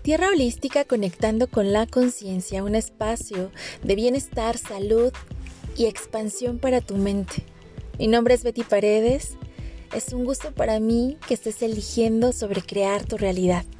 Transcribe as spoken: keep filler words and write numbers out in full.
Tierra Holística, conectando con la conciencia, un espacio de bienestar, salud y expansión para tu mente. Mi nombre es Betty Paredes. Es un gusto para mí que estés eligiendo sobre crear tu realidad.